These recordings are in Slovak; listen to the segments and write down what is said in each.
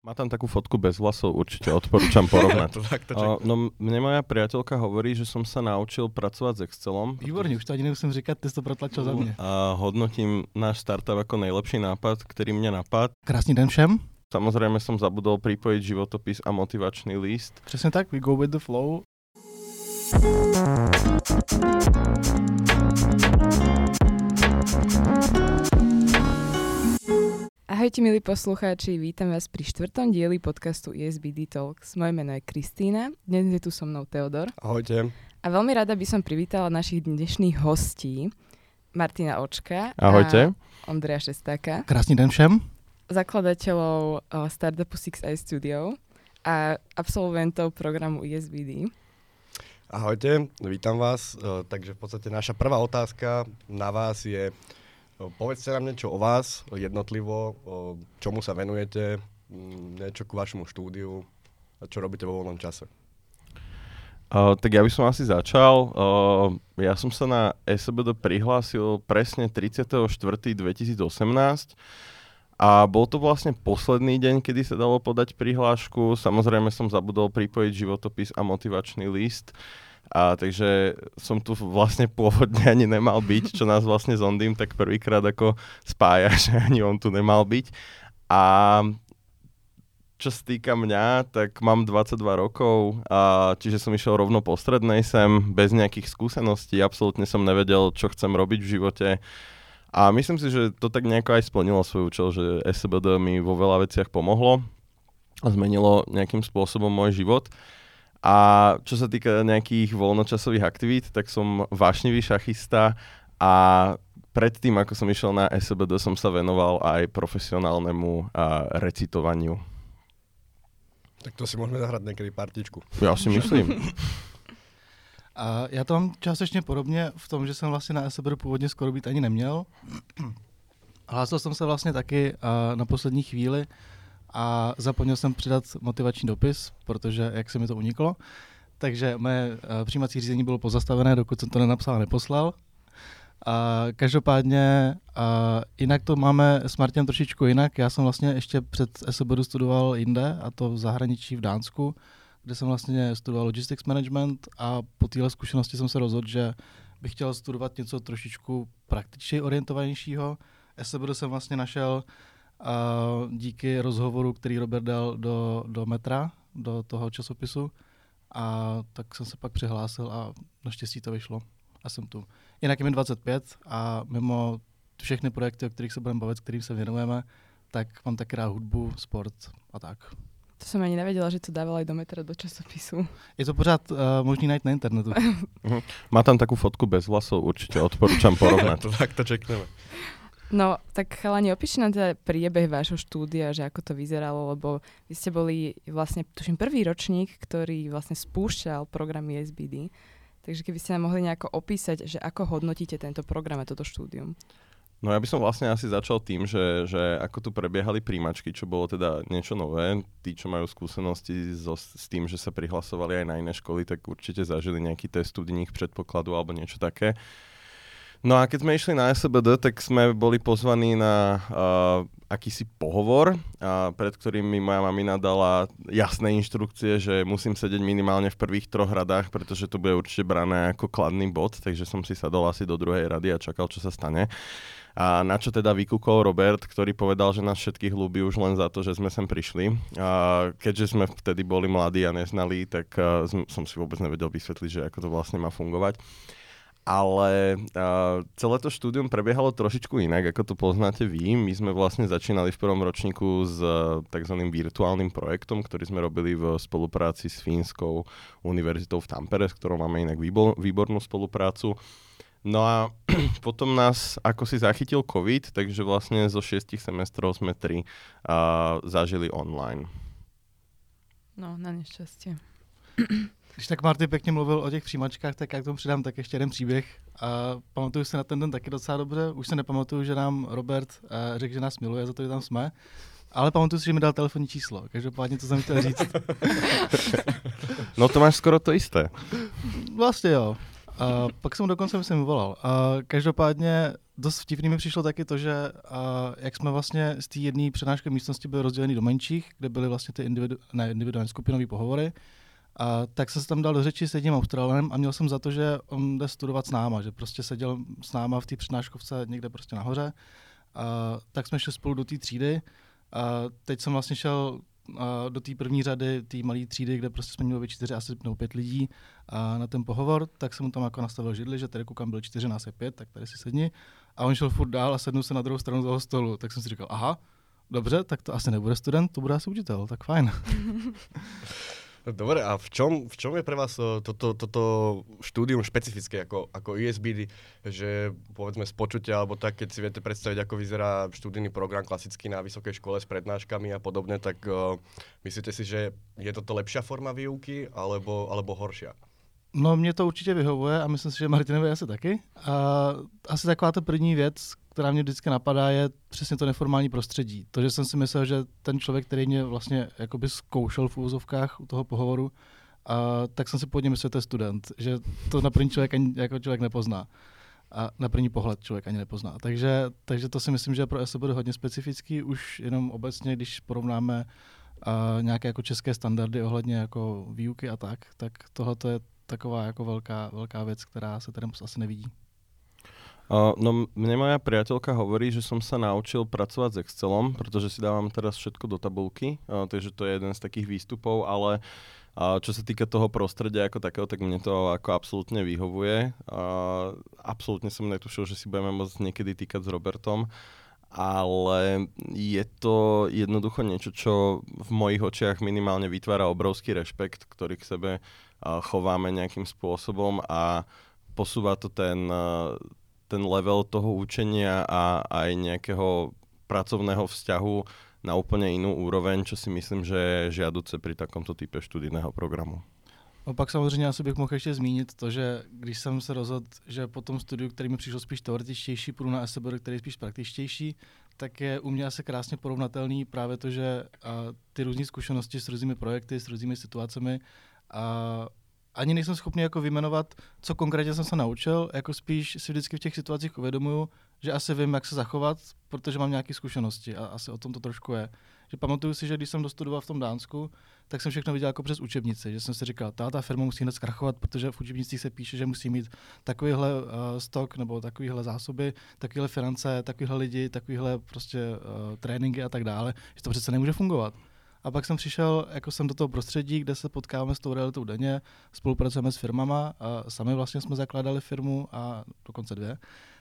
Má tam takú fotku bez vlasov, určite odporúčam porovnať. No, mne moja priateľka hovorí, že som sa naučil pracovať s Excelom. Výborně, už to ani nemusím říkat, ty jsi to protlačil za mě. A hodnotím náš startup ako najlepší nápad, ktorý mne napadl. Krásný den všem. Samozrejme som zabudol pripojiť životopis a motivačný list. Přesně tak, we go with the flow. Ahojte milí poslucháči, vítam vás pri 4. dieli podcastu ESBD Talks. Moje meno je Kristína, dnes je tu so mnou Teodor. Ahojte. A veľmi rada by som privítala našich dnešných hostí. Martina Očka. Ahojte. A Ondreja Šestáka. Krásný den všem. Zakladateľov startupu 6i Studio a absolventov programu ESBD. Ahojte, vítam vás. Takže v podstate naša prvá otázka na vás je, povedzte nám niečo o vás, jednotlivo, čomu sa venujete, niečo k vašemu štúdiu a čo robíte vo voľnom čase. Tak ja by som asi začal. Ja som sa na SBD prihlásil presne 30.4.2018 a bol to vlastne posledný deň, kedy sa dalo podať prihlášku. Samozrejme som zabudol pripojiť životopis a motivačný list. Takže som tu vlastne pôvodne ani nemal byť, čo nás vlastne s Ondým tak prvýkrát ako spája, že ani on tu nemal byť. A čo sa týka mňa, tak mám 22 rokov, čiže som išiel rovno po strednej sem, bez nejakých skúseností, absolútne som nevedel, čo chcem robiť v živote. A myslím si, že to tak nejako aj splnilo svoj účel, že SBD mi vo veľa veciach pomohlo a zmenilo nejakým spôsobom môj život. A čo sa týka nejakých voľnočasových aktivít, tak som vášnivý šachista a predtým, ako som išiel na SBD, som sa venoval aj profesionálnemu recitovaniu. Tak to si môžeme zahrať niekedy partičku. Ja si myslím. A já to mám částečně podobně v tom, že jsem vlastně na SBD původně skoro být ani neměl. Hlásil jsem se vlastně taky na poslední chvíli a zapomněl jsem přidat motivační dopis, protože jak se mi to uniklo. Takže moje přijímací řízení bylo pozastavené, dokud jsem to nenapsal a neposlal. Každopádně jinak to máme s Martinem trošičku jinak. Já jsem vlastně ještě před SBD studoval jinde, a to v zahraničí v Dánsku, kde jsem vlastně studoval logistics management a po téhle zkušenosti jsem se rozhodl, že bych chtěl studovat něco trošičku praktičně orientovanějšího. SBD jsem vlastně našel díky rozhovoru, který Robert dal do Metra, do toho časopisu, a tak jsem se pak přihlásil a naštěstí to vyšlo a jsem tu. Jinak je mi 25 a mimo všechny projekty, o kterých se budeme bavit, kterým se věnujeme, tak mám taky rád hudbu, sport a tak. To som ani nevedela, že to dával aj do Metra, do časopisu. Je to pořád možný najít na internetu. Má tam takú fotku bez vlasov, určite odporúčam porovnať. Tak to čekneme. No, tak chalani, opíšte nám teda priebeh vášho štúdia, že ako to vyzeralo, lebo vy ste boli vlastne, tuším, prvý ročník, ktorý vlastne spúšťal program ESBD. Takže keby ste nám mohli nejako opísať, že ako hodnotíte tento program a toto štúdium. No ja by som vlastne asi začal tým, že ako tu prebiehali príjmačky, čo bolo teda niečo nové. Tí, čo majú skúsenosti s tým, že sa prihlasovali aj na iné školy, tak určite zažili nejaký test studijných predpokladu alebo niečo také. No a keď sme išli na SBD, tak sme boli pozvaní na akýsi pohovor, pred ktorým mi moja mamina dala jasné inštrukcie, že musím sedieť minimálne v prvých 3 radách, pretože to bude určite brané ako kladný bod, takže som si sadol asi do 2. rady a čakal, čo sa stane. A na čo teda vykúkol Robert, ktorý povedal, že nás všetkých ľúbi už len za to, že sme sem prišli. A keďže sme vtedy boli mladí a neznali, tak som si vôbec nevedel vysvetliť, že ako to vlastne má fungovať. Ale celé to štúdium prebiehalo trošičku inak, ako to poznáte vy. My sme vlastne začínali v prvom ročníku s takzvaným virtuálnym projektom, ktorý sme robili v spolupráci s Fínskou univerzitou v Tampere, s ktorou máme inak výbornú spoluprácu. No a potom nás ako si zachytil COVID, takže vlastne zo 6 semestrov sme 3 zažili online. No, na nešťastie. Když tak Marty pěkně mluvil o těch přijímačkách, tak já k tomu přidám tak ještě jeden příběh. Pamatuju si na ten den taky docela dobře. Už se nepamatuju, že nám Robert řekl, že nás miluje za to, že tam jsme. Ale pamatuju si, že mi dal telefonní číslo. Každopádně to jsem chtěl říct. No to máš skoro to isté. Vlastně jo. Pak jsem dokonce myslím volal. Každopádně dost vtipný mi přišlo taky to, že jak jsme vlastně z té jedné přednášky místnosti byli rozděleni do menších, kde byly vlastně ty individuální skupinové pohovory, tak jsem se tam dal do řeči s jedním Australanem a měl jsem za to, že on jde studovat s náma, že prostě seděl s náma v té přednáškovce někde prostě nahoře. Tak jsme šli spolu do té třídy. Teď jsem vlastně šel do té první řady, té malé třídy, kde prostě jsme měli 4 asi nebo 5 lidí na ten pohovor, tak jsem mu tam jako nastavil židli, že tady koukám byl 4, nás je 5, tak tady si sedni. A on šel furt dál a sednul se na druhou stranu toho stolu. Tak jsem si říkal, aha, dobře, tak to asi nebude student, to bude asi učitel, tak fajn. Dobre, a v čom je pre vás toto štúdium špecifické ako ESBD, že povedzme z počutia, alebo tak, keď si viete predstaviť, ako vyzerá študijný program klasický na vysokej škole s prednáškami a podobne, tak myslíte si, že je toto lepšia forma výuky, alebo horšia? No, mě to určitě vyhovuje a myslím si, že Martinovi asi taky. Asi taková ta první věc, která mě vždycky napadá, je přesně to neformální prostředí. To, že jsem si myslel, že ten člověk, který mě vlastně jakoby zkoušel v úvozovkách u toho pohovoru, tak jsem si původně myslel, že to je student, že to na první člověk ani jako člověk nepozná. A na první pohled člověk ani nepozná. Takže to si myslím, že pro SE bude hodně specifický, už jenom obecně, když porovnáme nějaké jako české standardy ohledně jako výuky a tak tohle je taková jako velká věc, která se tady asi nevidí. No, mne moja priateľka hovorí, že som sa naučil pracovať s Excelom, pretože si dávam teraz všetko do tabulky, takže to je jeden z takých výstupov, ale čo sa týka toho prostredia ako takého, tak mne to ako absolútne vyhovuje. Absolútne som netušil, že si budeme môcť niekedy týkať s Robertom, ale je to jednoducho niečo, čo v mojich očiach minimálne vytvára obrovský rešpekt, ktorý k sebe chováme nejakým spôsobom a posúva to ten level toho učenia a aj nejakého pracovného vzťahu na úplne inú úroveň, čo si myslím, že je žiaduce pri takomto type študijného programu. No pak samozřejmě asi bych mohl ještě zmínit to, že když jsem se rozhodl, že po tom studiu, který mi přišlo spíš teoretičtější, půjdu na SBR, který je spíš praktičtější, tak je u mě asi krásně porovnatelný právě to, že ty různé zkušenosti s různými projekty, s různými situacemi ani nejsem schopný jako vyjmenovat, co konkrétně jsem se naučil, jako spíš si vždycky v těch situacích uvědomuju, že asi vím, jak se zachovat, protože mám nějaké zkušenosti a asi o tom to trošku je. Že pamatuju si, že když jsem dostudoval v tom Dánsku, tak jsem všechno viděl jako přes učebnici, že jsem si říkal, ta firma musí hned zkrachovat, protože v učebnicích se píše, že musí mít takovýhle stok nebo takovýhle zásoby, takovýhle finance, takovýhle lidi, takovýhle prostě tréninky a tak dále, že to přece nemůže fungovat. A pak jsem přišel jako jsem do toho prostředí, kde se potkáváme s tou realitou denně, spolupracujeme s firmama a sami vlastně jsme zakládali firmu a dokonce 2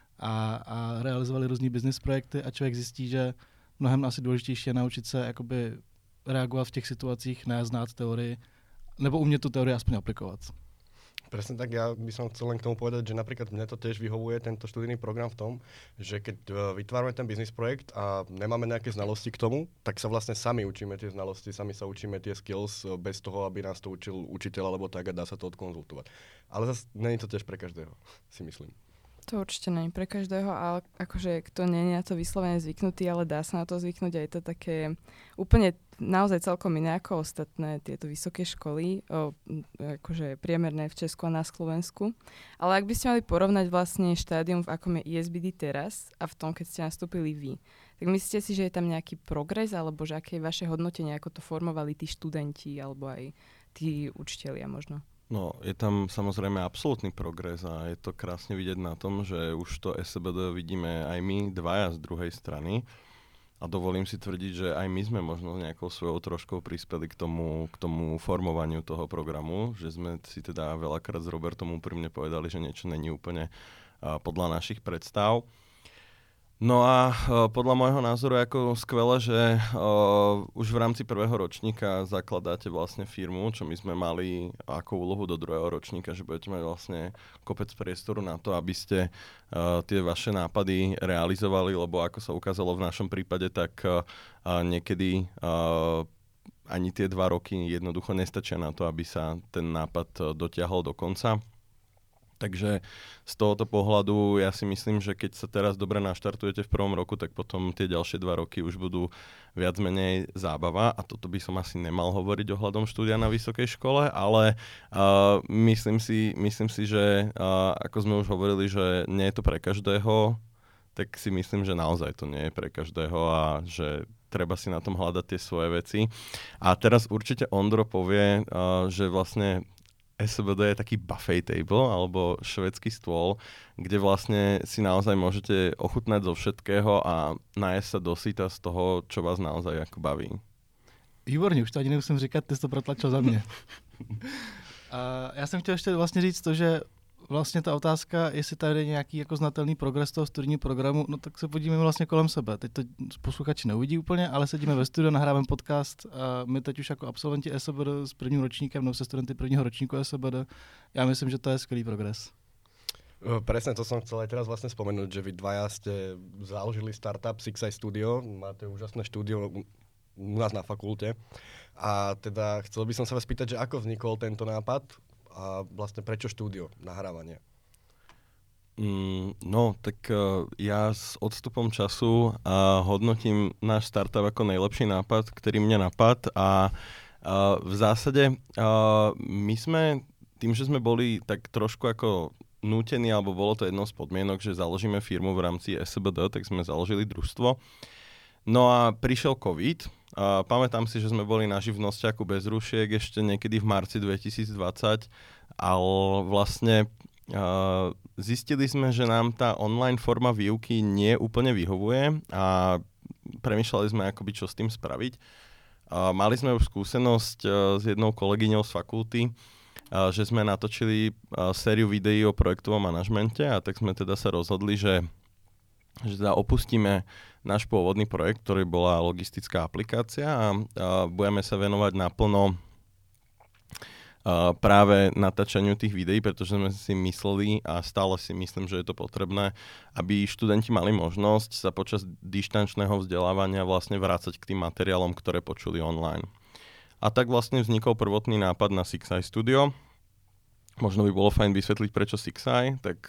a realizovali různý business projekty a člověk zjistí, že mnohem asi důležitější je naučit se jakoby reagovat v těch situacích, ne znát teorii, nebo umět tu teorii aspoň aplikovat. Presne tak, ja by som chcel len k tomu povedať, že napríklad mne to tiež vyhovuje, tento študijný program v tom, že keď vytvárame ten biznis projekt a nemáme nejaké znalosti k tomu, tak sa vlastne sami učíme tie znalosti, sami sa učíme tie skills bez toho, aby nás to učil učiteľ alebo tak a dá sa to odkonzultovať. Ale zase není to tiež pre každého, si myslím. To určite nie pre každého, ale akože kto nie je na to vyslovene zvyknutý, ale dá sa na to zvyknúť a je to také úplne naozaj celkom iné ako ostatné tieto vysoké školy, akože priemerné v Česku a na Slovensku. Ale ak by ste mali porovnať vlastne štádium, v akom je ESBD teraz a v tom, keď ste nastúpili vy, tak myslíte si, že je tam nejaký progres, alebo že aké je vaše hodnotenie, ako to formovali tí študenti, alebo aj tí učitelia možno? No, je tam samozrejme absolútny progres a je to krásne vidieť na tom, že už to SBD vidíme aj my dvaja z druhej strany a dovolím si tvrdiť, že aj my sme možno nejakou svojou troškou prispeli k tomu formovaniu toho programu, že sme si teda veľakrát s Robertom úprimne povedali, že niečo není úplne podľa našich predstav. No a podľa môjho názoru je ako skvelé, že už v rámci prvého ročníka zakladáte vlastne firmu, čo my sme mali ako úlohu do druhého ročníka, že budete mať vlastne kopec priestoru na to, aby ste tie vaše nápady realizovali, lebo ako sa ukázalo v našom prípade, tak niekedy ani tie 2 roky jednoducho nestačia na to, aby sa ten nápad dotiahol do konca. Takže z tohoto pohľadu ja si myslím, že keď sa teraz dobre naštartujete v prvom roku, tak potom tie ďalšie 2 roky už budú viac menej zábava a toto by som asi nemal hovoriť ohľadom štúdia na vysokej škole, ale myslím si, že ako sme už hovorili, že nie je to pre každého, tak si myslím, že naozaj to nie je pre každého a že treba si na tom hľadať tie svoje veci. A teraz určite Ondro povie, že vlastne SBD je taký buffet table alebo švédsky stôl, kde vlastne si naozaj môžete ochutnať zo všetkého a najesť sa dosyta z toho, čo vás naozaj ako baví. Výborně, už to ani nemusím říkat, ty jsi to protlačil za mě. A já jsem chtěl ještě vlastně říct to, že vlastně ta otázka, jestli tady je nějaký jako znatelný progres toho studijního programu, no tak se podívejme vlastně kolem sebe. Teď to posluchači neuvidí úplně, ale sedíme ve studiu, nahráváme podcast a my teď už jako absolventi SBD s prvním ročníkem, nebo se studenty prvního ročníku SBD, já myslím, že to je skvělý progres. Presne to som chcel aj teraz vlastne spomenúť, že vy dvaja ste založili startup Six Eye Studio, máte úžasné štúdio u nás na fakulte a teda chcel by som sa vás pýtať, že ako vznikol tento nápad a vlastne prečo štúdio nahrávania? No, tak ja s odstupom času hodnotím náš startup ako najlepší nápad, ktorý mne napad a v zásade my sme, tým, že sme boli tak trošku ako nútení, alebo bolo to jednou z podmienok, že založíme firmu v rámci SBD, tak sme založili družstvo. No a prišiel COVID. Pamätám si, že sme boli na živnosťaku bez rušiek ešte niekedy v marci 2020, ale vlastne zistili sme, že nám tá online forma výuky nie úplne vyhovuje a premýšľali sme, akoby čo s tým spraviť. Mali sme už skúsenosť s jednou kolegyňou z fakulty, že sme natočili sériu videí o projektovom manažmente a tak sme teda sa rozhodli, že teda opustíme náš pôvodný projekt, ktorý bola logistická aplikácia a budeme sa venovať naplno práve natáčaniu tých videí, pretože sme si mysleli a stále si myslím, že je to potrebné, aby študenti mali možnosť sa počas dištančného vzdelávania vlastne vrácať k tým materiálom, ktoré počuli online. A tak vlastne vznikol prvotný nápad na Six Eye Studio. Možno by bolo fajn vysvetliť, prečo Six Eye. Tak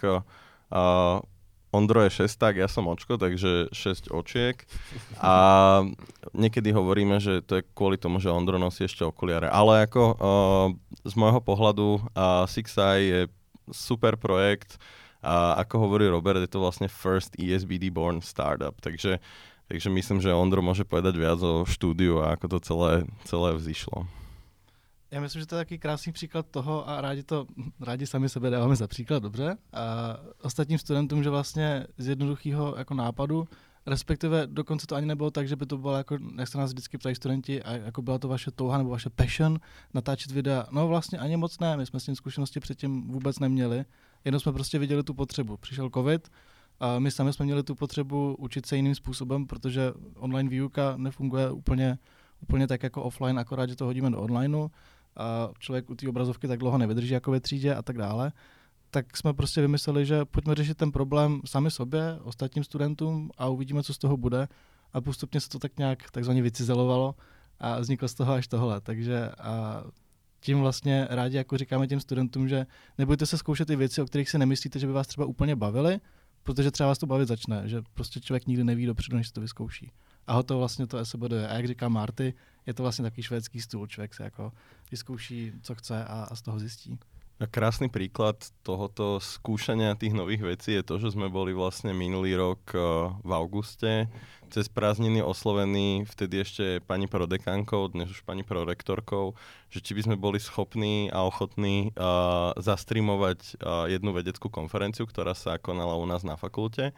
Ondro je šesták, ja som očko, takže 6 očiek. A niekedy hovoríme, že to je kvôli tomu, že Ondro nosí ešte okuliare. Ale ako z môjho pohľadu Six Eye je super projekt. A ako hovorí Robert, je to vlastne first ESBD born startup. Takže myslím, že Ondro môže povedať viac o štúdiu a ako to celé vzýšlo. Já myslím, že to je taky krásný příklad toho a rádi sami sebe dáváme za příklad, dobře. A ostatním studentům, že vlastně z jednoduchého jako nápadu, respektive dokonce to ani nebylo tak, že by to bylo jako, jak se nás vždycky ptají studenti, a jako byla to vaše touha nebo vaše passion natáčet videa. No vlastně ani moc ne, my jsme s tím zkušenosti předtím vůbec neměli, jenom jsme prostě viděli tu potřebu. Přišel covid, a my sami jsme měli tu potřebu učit se jiným způsobem, protože online výuka nefunguje úplně tak jako offline, akorát, že to hodíme do onlineu a člověk u té obrazovky tak dlouho nevydrží jako ve třídě a tak dále. Tak jsme prostě vymysleli, že pojďme řešit ten problém sami sobě, ostatním studentům a uvidíme, co z toho bude. A postupně se to tak nějak takzvaně vycizelovalo a vzniklo z toho až tohle. Takže a tím vlastně rádi jako říkáme těm studentům, že nebudete se zkoušet ty věci, o kterých si nemyslíte, že by vás třeba úplně bavily, protože třeba vás to bavit začne, že prostě člověk nikdy neví dopředu, než se to vyzkouší. A hotovo vlastně to SBD je. A jak říká Marty, je to vlastně takový švédský stůl, člověk se jako vyzkouší, co chce a z toho zjistí. A krásny príklad tohoto skúšania tých nových vecí je to, že sme boli vlastne minulý rok v auguste cez prázdniny oslovení vtedy ešte pani prodekánkou, dnes už pani prorektorkou, že či by sme boli schopní a ochotní zastreamovať jednu vedeckú konferenciu, ktorá sa konala u nás na fakulte.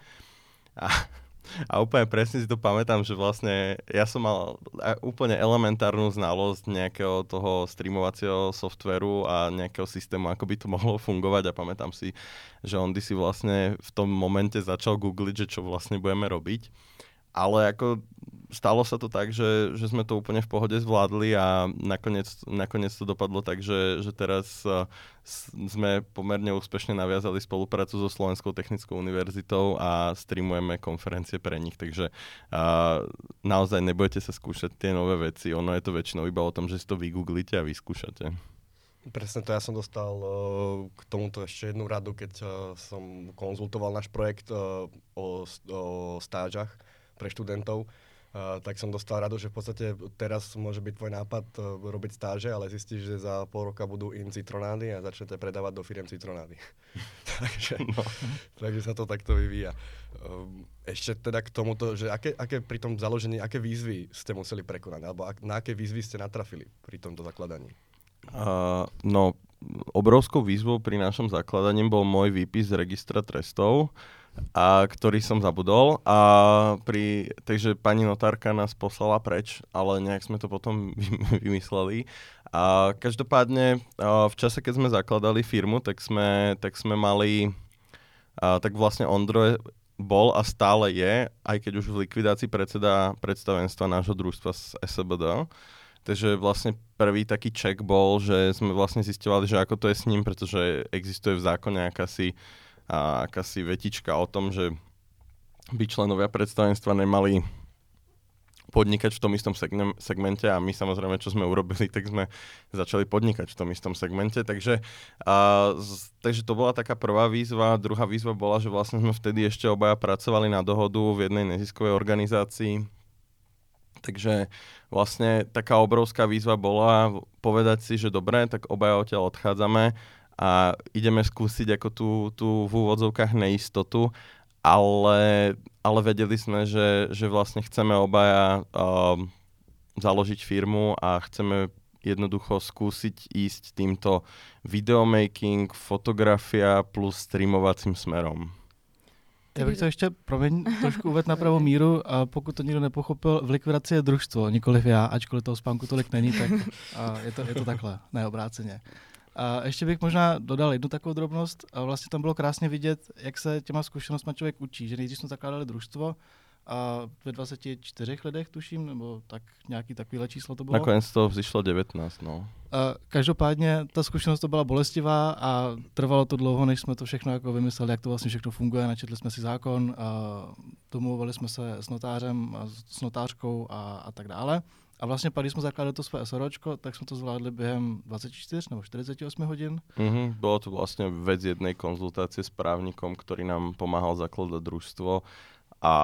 A úplne presne si to pamätám, že vlastne ja som mal úplne elementárnu znalosť nejakého toho streamovacieho softveru a nejakého systému, ako by to mohlo fungovať a pamätám si, že Ondy si vlastne v tom momente začal googliť, že čo vlastne budeme robiť. Ale ako stalo sa to tak, že sme to úplne v pohode zvládli a nakoniec to dopadlo tak, že teraz sme pomerne úspešne naviazali spoluprácu so Slovenskou technickou univerzitou a streamujeme konferencie pre nich, takže naozaj nebudete sa skúšať tie nové veci, ono je to väčšinou iba o tom, že si to vygooglite a vyskúšate. Presne to, ja som dostal k tomuto ešte jednu radu, keď som konzultoval náš projekt o stážach pre študentov. Tak som dostal radu, že v podstate teraz môže byť tvoj nápad robiť stáže, ale zistíš, že za pol roka budú in citronády a začnete predávať do firiem citronády. takže sa to takto vyvíja. Ešte teda k tomuto, že aké pri tom založení, aké výzvy ste museli prekonať, alebo na aké výzvy ste natrafili pri tomto zakladaní? No, obrovskou výzvou pri našom zakladaní bol môj výpis z registra trestov, ktorý som zabudol. Takže pani notárka nás poslala preč, ale nejak sme to potom vymysleli. Každopádne v čase, keď sme zakladali firmu, tak sme mali, tak vlastne Ondro bol a stále je, aj keď už v likvidácii predseda predstavenstva nášho družstva z SBD. Takže vlastne prvý taký check bol, že sme vlastne zisťovali, že ako to je s ním, pretože existuje v zákone akási vetička o tom, že by členovia predstavenstva nemali podnikať v tom istom segmente a my samozrejme, čo sme urobili, tak sme začali podnikať v tom istom segmente. Takže to bola taká prvá výzva. Druhá výzva bola, že vlastne sme vtedy ešte obaja pracovali na dohodu v jednej neziskovej organizácii. Takže vlastne taká obrovská výzva bola povedať si, že dobre, tak obaja odtiaľ odchádzame a ideme skúsiť ako tú v úvodzovkách neistotu, ale vedeli sme, že vlastne chceme obaja založiť firmu a chceme jednoducho skúsiť ísť týmto videomaking, fotografia plus streamovacím smerom. Já bych to ještě, trošku uvést na pravou míru, a pokud to nikdo nepochopil, v likvidaci je družstvo, nikoliv já, ačkoliv toho spánku tolik není, tak je to takhle, ne obráceně. A ještě bych možná dodal jednu takovou drobnost, a vlastně tam bylo krásně vidět, jak se těma zkušenostmi člověk učí, že nejdřív jsme zakládali družstvo a ve 24 lidech tuším, nebo tak nějaký takovýhle číslo to bylo. Nakonec to vzešlo 19, no. Každopádně ta zkušenost to byla bolestivá a trvalo to dlouho, než jsme to všechno jako vymysleli, jak to vlastně všechno funguje. Načetli jsme si zákon, domluvili jsme se s notářem, s notářkou a tak dále. A vlastně pak, když jsme zakládali to své SROčko, tak jsme to zvládli během 24 nebo 48 hodin. Bolo to vlastne vec jednej konzultácie s právnikom, ktorý nám pomáhal zakladať družstvo a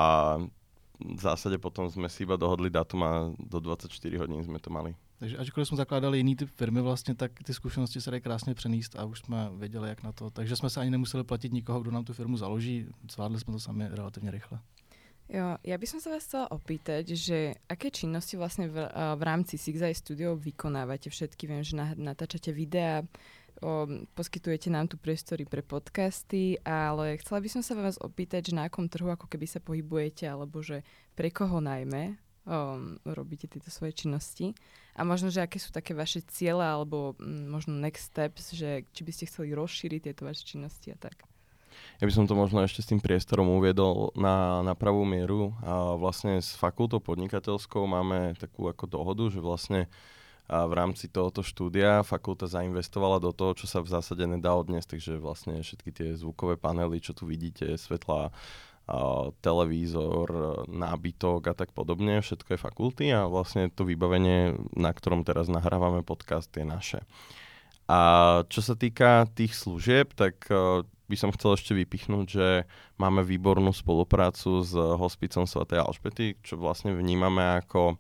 v zásade potom sme si iba dohodli datum a do 24 hodín sme to mali. Takže ačkoliv jsme zakládali jiný typ firmy vlastně, tak ty zkušenosti se dají krásně přenést a už jsme věděli, jak na to. Takže jsme se ani nemuseli platit nikoho, kdo nám tu firmu založí. Zvládli jsme to sami relativně rychle. Jo, ja by som sa vás chcela opýtať, že aké činnosti vlastne v rámci Six Eye Studio vykonávate všetky? Viem, že natáčate videá, poskytujete nám tu priestory pre podcasty, ale chcela by som sa vás opýtať, že na akom trhu ako keby sa pohybujete, alebo že pre koho najmä robíte tieto svoje činnosti a možno, že aké sú také vaše ciele alebo možno next steps, že či by ste chceli rozšíriť tieto vaše činnosti a tak. Ja by som to možno ešte s tým priestorom uviedol na pravú mieru. A vlastne s fakultou podnikateľskou máme takú ako dohodu, že vlastne v rámci tohoto štúdia fakulta zainvestovala do toho, čo sa v zásade nedá odniesť, takže vlastne všetky tie zvukové panely, čo tu vidíte, svetlá, televízor, nábytok a tak podobne, všetko je fakulty a vlastne to vybavenie, na ktorom teraz nahrávame podcast, je naše. A čo sa týka tých služieb, tak by som chcel ešte vypichnúť, že máme výbornú spoluprácu s hospicom svätej Alžbety, čo vlastne vnímame ako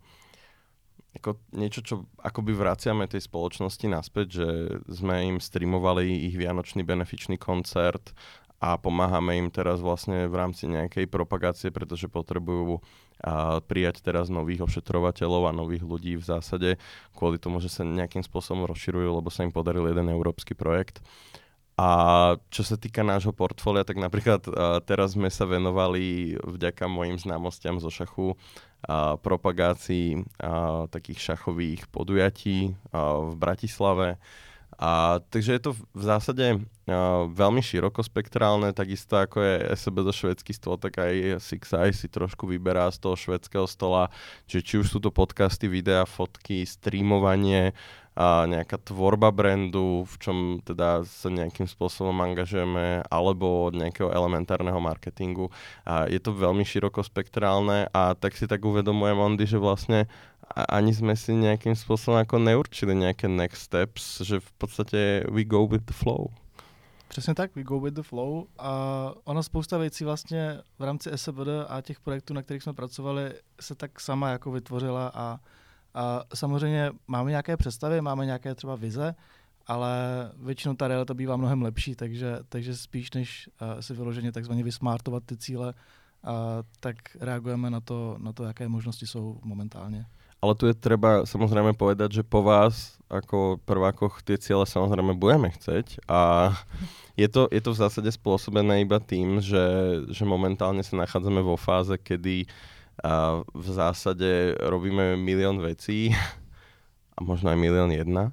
niečo, čo akoby vraciame tej spoločnosti naspäť, že sme im streamovali ich vianočný benefičný koncert a pomáhame im teraz vlastne v rámci nejakej propagácie, pretože potrebujú prijať teraz nových ošetrovateľov a nových ľudí v zásade kvôli tomu, že sa nejakým spôsobom rozširujú, lebo sa im podaril jeden európsky projekt. A čo sa týka nášho portfólia, tak napríklad teraz sme sa venovali vďaka mojim známostiam zo šachu propagácii takých šachových podujatí v Bratislave. Takže je to v zásade veľmi širokospektrálne, takisto ako je SBD švédsky stôl, tak aj Six Eye si trošku vyberá z toho švédskeho stola, že či už sú to podcasty, videá, fotky, streamovanie, nejaká tvorba brandu, v čom teda sa nejakým spôsobom angažujeme, alebo od nejakého elementárneho marketingu. Je to veľmi širokospektrálne a tak si tak uvedomujem, Ondy, že vlastne ani sme si nejakým spôsobom ako neurčili nejaké next steps, že v podstate we go with the flow. Přesně tak, we go with the flow a ono spousta věcí vlastně v rámci SBD a těch projektů, na kterých jsme pracovali, se tak sama jako vytvořila a samozřejmě máme nějaké představy, máme nějaké třeba vize, ale většinou ta realita bývá mnohem lepší, takže spíš než si vyloženě takzvaně vysmartovat ty cíle, tak reagujeme na to, jaké možnosti jsou momentálně. Ale tu je treba samozrejme povedať, že po vás ako prvákoch tie ciele samozrejme budeme chceť a je to v zásade spôsobené iba tým, že momentálne sa nachádzame vo fáze, kedy v zásade robíme milión vecí a možno aj 1,001 000.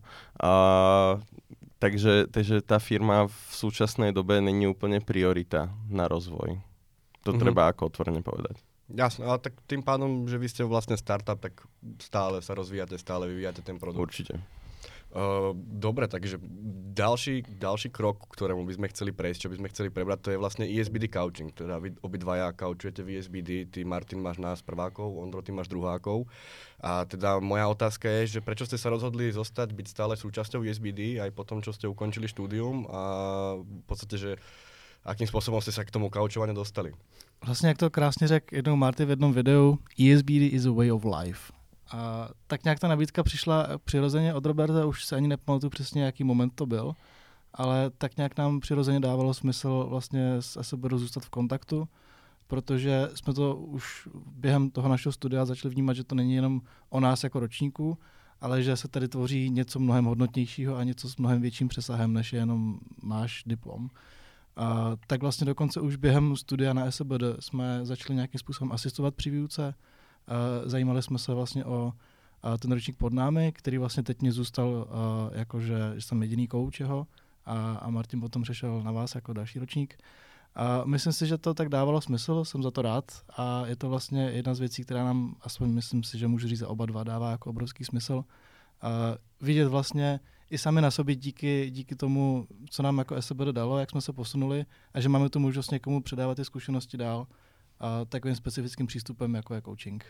Takže tá firma v súčasnej dobe není úplne priorita na rozvoj. To treba ako otvorene povedať. Jasné, ale tak tým pádom, že vy ste vlastne startup, tak stále sa rozvíjate, stále vyvíjate ten produkt. Určite. Dobre, takže ďalší krok, ktorému by sme chceli prejsť, čo by sme chceli prebrať, to je vlastne ESBD couching. Teda vy obidvaja couchujete v ESBD, ty Martin máš nás prvákov, Ondro ty máš druhákov. A teda moja otázka je, že prečo ste sa rozhodli zostať, byť stále súčasťou ESBD aj po tom, čo ste ukončili štúdium a v podstate, že akým spôsobom ste sa k tomu couchovaniu dostali? Vlastně, jak to krásně řekl jednou Marty v jednom videu, ESBD is a way of life. A tak nějak ta nabídka přišla přirozeně od Roberta, už se ani nepamatuju přesně, jaký moment to byl, ale tak nějak nám přirozeně dávalo smysl vlastně s SBD zůstat v kontaktu, protože jsme to už během toho našeho studia začali vnímat, že to není jenom o nás jako ročníků, ale že se tady tvoří něco mnohem hodnotnějšího a něco s mnohem větším přesahem, než je jenom náš diplom. Tak vlastně dokonce už během studia na SBD jsme začali nějakým způsobem asistovat při výuce. Zajímali jsme se vlastně o ten ročník pod námi, který vlastně teď mě zůstal jakože jsem jediný kouč jeho a Martin potom přešel na vás jako další ročník. Myslím si, že to tak dávalo smysl, jsem za to rád a je to vlastně jedna z věcí, která nám, aspoň myslím si, že můžu říct za oba dva, dává jako obrovský smysl. Vidět vlastně i sami na sobě díky tomu, co nám jako SBD dalo, jak jsme se posunuli a že máme tu možnost někomu předávat ty zkušenosti dál takovým specifickým přístupem, jako je coaching.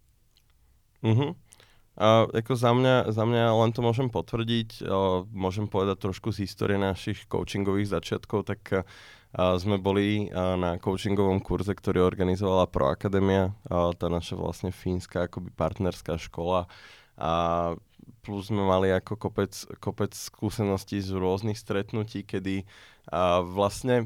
Ako za mňa len to môžem potvrdiť, môžem povedať trošku z histórie našich coachingových začiatkov, tak sme boli na coachingovom kurze, ktorý organizovala Proakademia, tá naša vlastne fínska akoby partnerská škola a plus sme mali ako kopec skúseností z rôznych stretnutí, kedy vlastne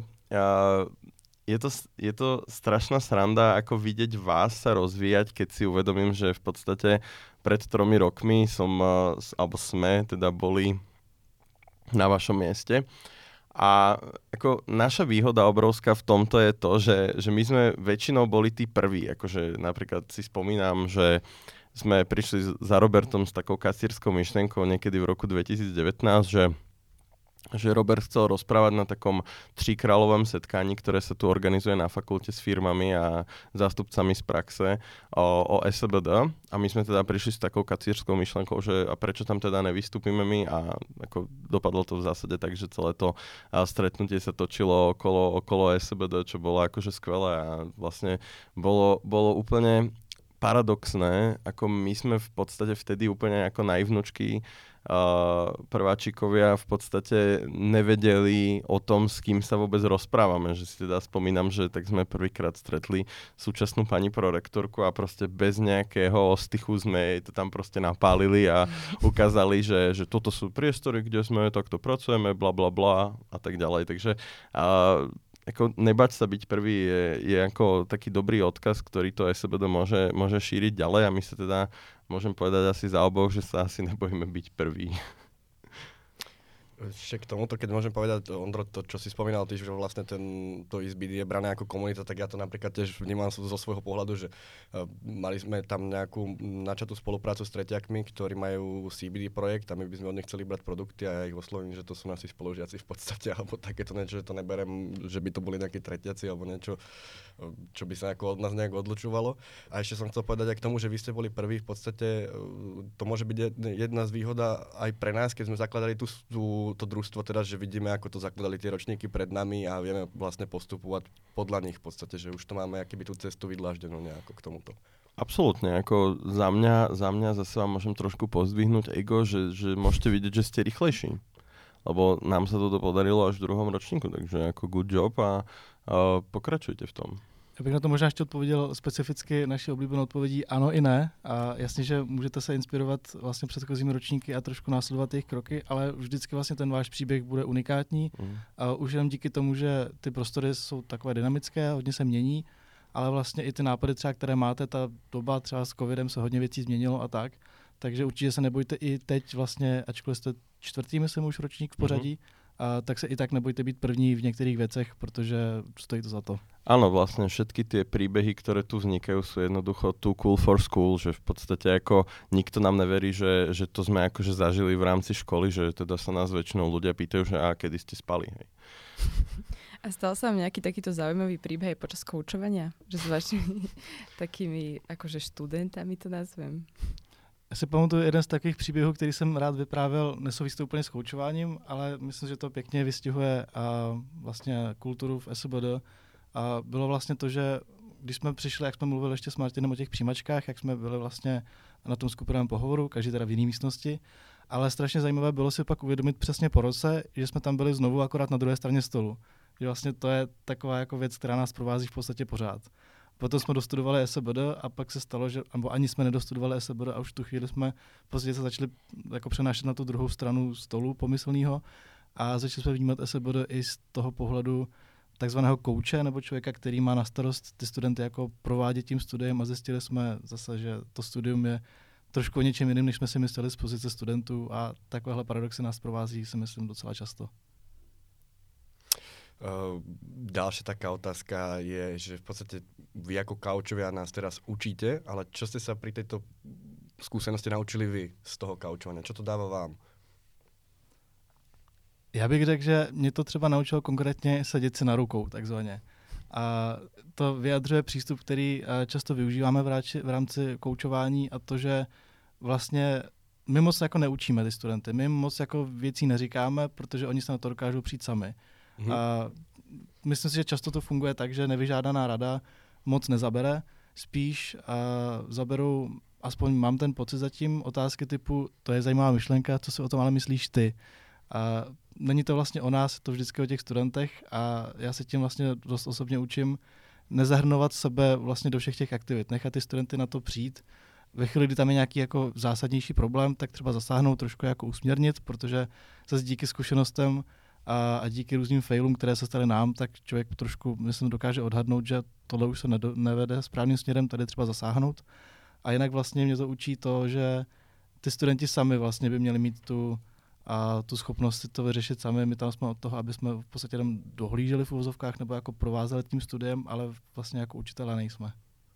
je to strašná sranda, ako vidieť vás sa rozvíjať, keď si uvedomím, že v podstate pred 3 rokmi sme teda boli na vašom mieste. A ako naša výhoda obrovská v tomto je to, že my sme väčšinou boli tí prví. Akože napríklad si spomínam, že sme prišli za Robertom s takou kasírskou myšlienkou niekedy v roku 2019, že Robert chcel rozprávať na takom 3-kráľovom setkaní, ktoré sa tu organizuje na fakulte s firmami a zástupcami z praxe o SBD. A my sme teda prišli s takou kacírskou myšlenkou, že a prečo tam teda nevystúpime my a ako dopadlo to v zásade tak, že celé to stretnutie sa točilo okolo SBD, čo bolo akože skvelé a vlastne bolo úplne paradoxné, ako my sme v podstate vtedy úplne ako naivnučky prváčikovia v podstate nevedeli o tom, s kým sa vôbec rozprávame. Že si teda spomínam, že tak sme prvýkrát stretli súčasnú pani prorektorku a proste bez nejakého ostychu sme jej to tam proste napálili a ukázali, že toto sú priestory, kde sme, takto pracujeme, bla bla bla a tak ďalej. Takže ako nebať sa byť prvý je ako taký dobrý odkaz, ktorý to SBD môže šíriť ďalej a my sa teda môžem povedať asi za oboch, že sa asi nebojíme byť prvý. Ešte k tomuto, keď môžem povedať, Ondro, to, čo si spomínal, ty, že vlastne to ESBD je brané ako komunita, tak ja to napríklad tiež vnímam zo svojho pohľadu, že mali sme tam nejakú načatú spoluprácu s treťakmi, ktorí majú CBD projekt a my by sme od nich chceli brať produkty a ja ich oslovím, že to sú naši spolužiaci v podstate, alebo takéto niečo, že to neberem, že by to boli nejakí tretiaci alebo niečo, čo by sa od nás nejak odlučovalo. A ešte som chcel povedať aj k tomu, že vy ste boli prví, v podstate to môže byť jedna z výhoda aj pre nás, keď sme zakladali tú to družstvo teda, že vidíme, ako to zakladali tie ročníky pred nami a vieme vlastne postupovať podľa nich v podstate, že už to máme akoby tú cestu vydláždenú nejako k tomuto. Absolútne, ako za mňa zase vám môžem trošku pozdvihnúť ego, že môžete vidieť, že ste rýchlejší. Lebo nám sa toto podarilo až v 2. ročníku, takže ako good job a pokračujte v tom. Já bych na to možná ještě odpověděl specificky naší oblíbenou odpovědí ano i ne. A jasně, že můžete se inspirovat vlastně předchozími ročníky a trošku následovat jejich kroky, ale vždycky vlastně ten váš příběh bude unikátní. A už jenom díky tomu, že ty prostory jsou takové dynamické, hodně se mění, ale vlastně i ty nápady třeba, které máte, ta doba třeba s covidem se hodně věcí změnilo a tak. Takže určitě se nebojte i teď vlastně, ačkoliv jste 4. myslím už ročník v pořadí, tak se i tak nebojte být první v některých věcech, protože stojí to za to. Áno, vlastne všetky tie príbehy, ktoré tu vznikajú, sú jednoducho too cool for school, že v podstate ako nikto nám neverí, že to sme akože zažili v rámci školy, že teda sa nás väčšinou ľudia pýtajú, že kedy ste spali, hej. A stal sa vám nejaký takýto zaujímavý príbeh aj počas koučovania? Že s vašimi takými akože študentami to nazvem? Já si pamatuju jeden z takových příběhů, který jsem rád vyprávěl, nesouvisí to úplně s koučováním, ale myslím, že to pěkně vystihuje vlastně kulturu v SBD. A bylo vlastně to, že když jsme přišli, jak jsme mluvili ještě s Martinem o těch přijímačkách, jak jsme byli vlastně na tom skupinovém pohovoru, každý teda v jiné místnosti, ale strašně zajímavé bylo si pak uvědomit přesně po roce, že jsme tam byli znovu akorát na druhé straně stolu. Že vlastně to je taková jako věc, která nás provází v podstatě pořád. Potom jsme dostudovali SBD a pak se stalo, že ani jsme nedostudovali SBD a už tu chvíli jsme v podstatě se začali jako přenášet na tu druhou stranu stolu pomyslného a začali jsme vnímat SBD i z toho pohledu takzvaného kouče nebo člověka, který má na starost ty studenty jako provádět tím studiem a zjistili jsme zase, že to studium je trošku o něčem jiným, než jsme si mysleli z pozice studentů a takovéhle paradoxy nás provází, si myslím, docela často. Ďalšia taká otázka je, že v podstate vy ako kaučovia nás teraz učíte, ale čo ste sa pri tejto skúsenosti naučili vy z toho kaučovania? Čo to dáva vám? Já bych řekl, že mě to třeba naučilo konkrétně sedět si na rukou, takzvaně. A to vyjadřuje přístup, který často využíváme v rámci koučování a to, že vlastně my moc jako neučíme ty studenty, my moc jako věcí neříkáme, protože oni se na to dokážou přijít sami. A myslím si, že často to funguje tak, že nevyžádaná rada moc nezabere, spíš zaberou, aspoň mám ten pocit zatím, otázky typu, to je zajímavá myšlenka, co si o tom ale myslíš ty. A není to vlastně o nás, to vždycky o těch studentech a já se tím vlastně dost osobně učím nezahrnovat sebe vlastně do všech těch aktivit, nechat ty studenty na to přijít. Ve chvíli, kdy tam je nějaký jako zásadnější problém, tak třeba zasáhnout, trošku jako usměrnit, protože zase díky zkušenostem a díky různým failům, které se staly nám, tak člověk trošku, myslím, dokáže odhadnout, že tohle už se nevede správným směrem, tady třeba zasáhnout. A jinak vlastně mě to učí to, že ty studenti sami vlastně by měli mít tu schopnost si to vyřešit sami. My tam jsme od toho, aby jsme v podstatě jenom dohlíželi v uvozovkách nebo jako provázeli tím studiem, ale vlastně jako učitelé nejsme.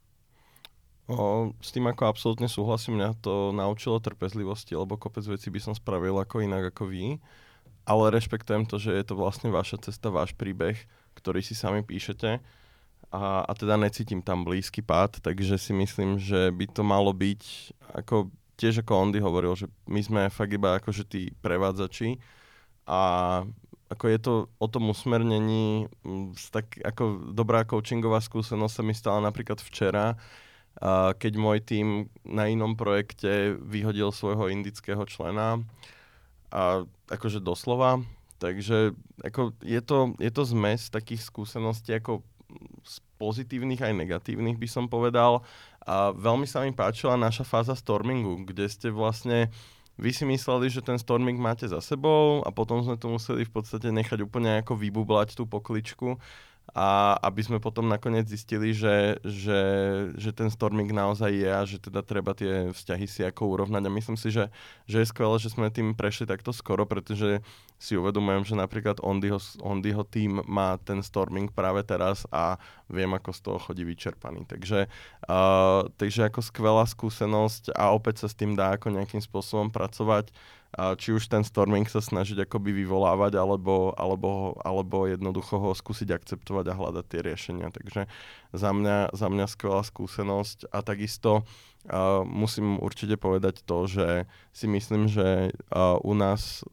S tým ako absolútne súhlasím, mňa to naučilo trpezlivosti, lebo kopec vecí by som spravil ako inak ako vy, ale rešpektujem to, že je to vlastne vaša cesta, váš príbeh, ktorý si sami píšete a teda necítim tam blízky pád, takže si myslím, že by to malo byť ako tiež ako Ondy hovoril, že my sme fakt iba akože tí prevádzači a ako je to o tom usmernení, tak ako dobrá coachingová skúsenosť sa mi stala napríklad včera, keď môj tím na inom projekte vyhodil svojho indického člena a akože doslova, takže ako je to zmes takých skúseností ako z pozitívnych aj negatívnych by som povedal a veľmi sa mi páčila naša fáza stormingu, kde ste vlastne vy si mysleli, že ten storming máte za sebou a potom sme to museli v podstate nechať úplne ako vybublať tú pokličku a aby sme potom nakoniec zistili, že ten storming naozaj je a že teda treba tie vzťahy si ako urovnať a myslím si, že je skvelé, že sme tým prešli takto skoro, pretože si uvedomujem, že napríklad Ondyho tým má ten storming práve teraz a viem, ako z toho chodí vyčerpaný. Takže ako skvelá skúsenosť a opäť sa s tým dá ako nejakým spôsobom pracovať. Či už ten storming sa snažiť akoby vyvolávať, alebo jednoducho ho skúsiť akceptovať a hľadať tie riešenia. Takže za mňa skvelá skúsenosť a takisto musím určite povedať to, že si myslím, že u nás v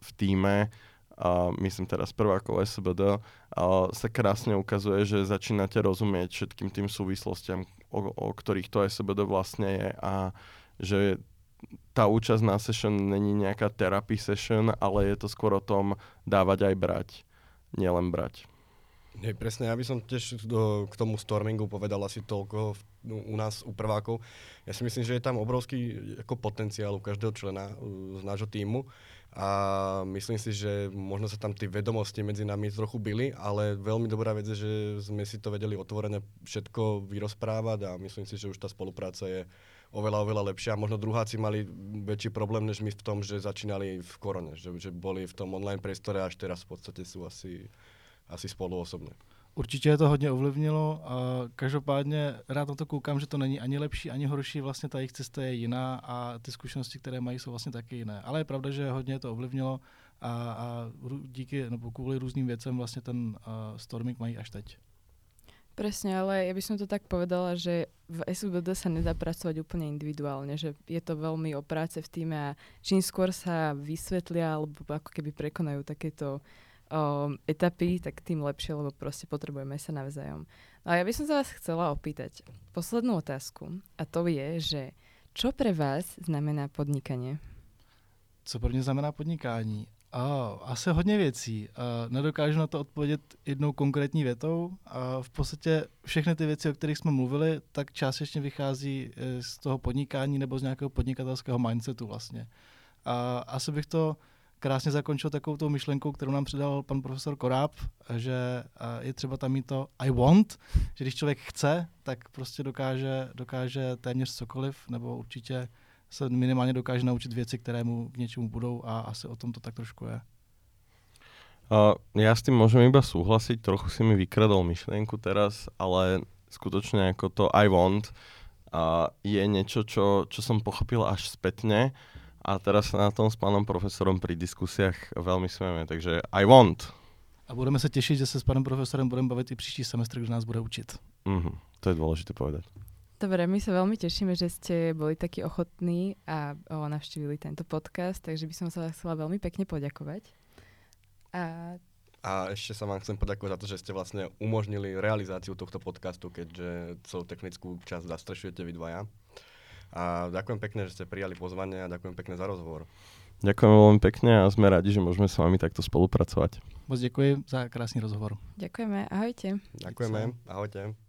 v tíme, a myslím teraz prvákov SBD, sa krásne ukazuje, že začínate rozumieť všetkým tým súvislostiam, o ktorých to SBD vlastne je, a že tá účasť na session není nejaká therapy session, ale je to skôr o tom dávať aj brať, nielen brať. Hej, presne, ja by som tiež k tomu stormingu povedal asi toľko u nás, u prvákov. Ja si myslím, že je tam obrovský ako potenciál u každého člena z nášho tímu a myslím si, že možno sa tam tie vedomosti medzi nami trochu byli, ale veľmi dobrá vec je, že sme si to vedeli otvorene všetko vyrozprávať a myslím si, že už tá spolupráca je oveľa lepšia. Možno druháci mali väčší problém než my v tom, že začínali v korone, že boli v tom online priestore a až teraz v podstate sú asi spolu osobně. Určitě to hodně ovlivnilo a každopádně rád na to koukám, že to není ani lepší, ani horší, vlastně ta jejich cesta je jiná a ty zkušenosti, které mají, jsou vlastně taky jiné. Ale je pravda, že hodně to ovlivnilo a díky, nebo kvůli různým věcem vlastně ten storming mají až teď. Presne, ale ja by som to tak povedala, že v SUBD sa nedá pracovať úplne individuálne, že je to veľmi o práce v týme a čím skôr sa vysvetlia alebo ako keby prekonajú takéto etapy, tak tým lepšie, lebo proste potrebujeme sa navzájom. No a ja by som sa vás chcela opýtať poslednú otázku a to je, že čo pre vás znamená podnikanie? Co pro mě znamená podnikání? Asi hodně věcí. Nedokážu na to odpovědět jednou konkrétní větou. V podstatě všechny ty věci, o kterých jsme mluvili, tak částečně vychází z toho podnikání nebo z nějakého podnikatelského mindsetu vlastně. Asi bych to krásně zakončil takovou tou myšlenkou, kterou nám předal pan profesor Koráb, že je třeba tam mít to I want, že když člověk chce, tak prostě dokáže téměř cokoliv, nebo určitě se minimálně dokáže naučit věci, které mu k něčemu budou a asi o tom to tak trošku je. Ja s tým môžem iba súhlasiť, trochu si mi vykradol myšlienku teraz, ale skutočne ako to I want je niečo, čo som pochopil až spätne a teraz sa na tom s pánom profesorom pri diskusiách veľmi smieme, takže I want. A budeme sa tešiť, že sa s pánom profesorem budeme baviť i příští semestr, kde nás bude učiť. To je dôležité povedať. Dobre, my sa veľmi tešíme, že ste boli takí ochotní a navštívili tento podcast, takže by som sa vás chcela veľmi pekne poďakovať. A ešte sa vám chcem poďakovať za to, že ste vlastne umožnili realizáciu tohto podcastu, keďže celú technickú časť zastrešujete vy dvaja. A ďakujem pekne, že ste prijali pozvanie a ďakujem pekne za rozhovor. Ďakujem veľmi pekne a sme radi, že môžeme s vami takto spolupracovať. Moc děkuji za krásný rozhovor. Ďakujeme, ahojte. Ďakujeme, ahojte.